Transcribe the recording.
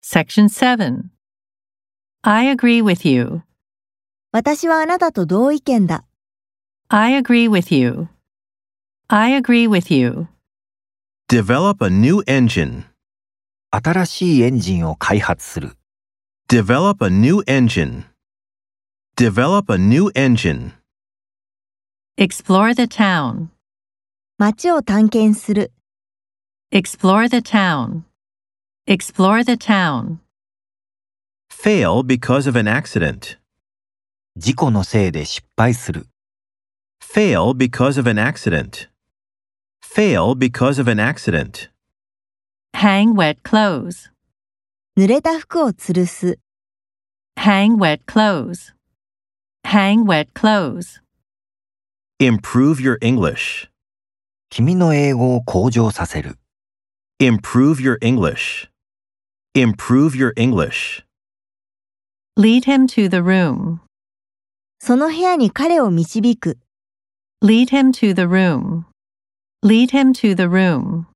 Section 7. I agree with you. 私はあなたと同意見だ。 I agree with you. I agree with you. Develop a new engine. 新しいエンジンを開発する。 Develop a new engine. Develop a new engine. Explore the town. 街を探検する。 Explore the town. Explore the town. Fail because of an accident. 事故のせいで失敗する。 Fail because of an accident. Fail because of an accident. Hang wet clothes. 濡れた服を吊るす。 Hang wet clothes. Hang wet clothes. Improve your English. 君の英語を向上させる。 Improve your English. Improve your English. Lead him to the room. その部屋に彼を導く。 Lead him to the room. Lead him to the room.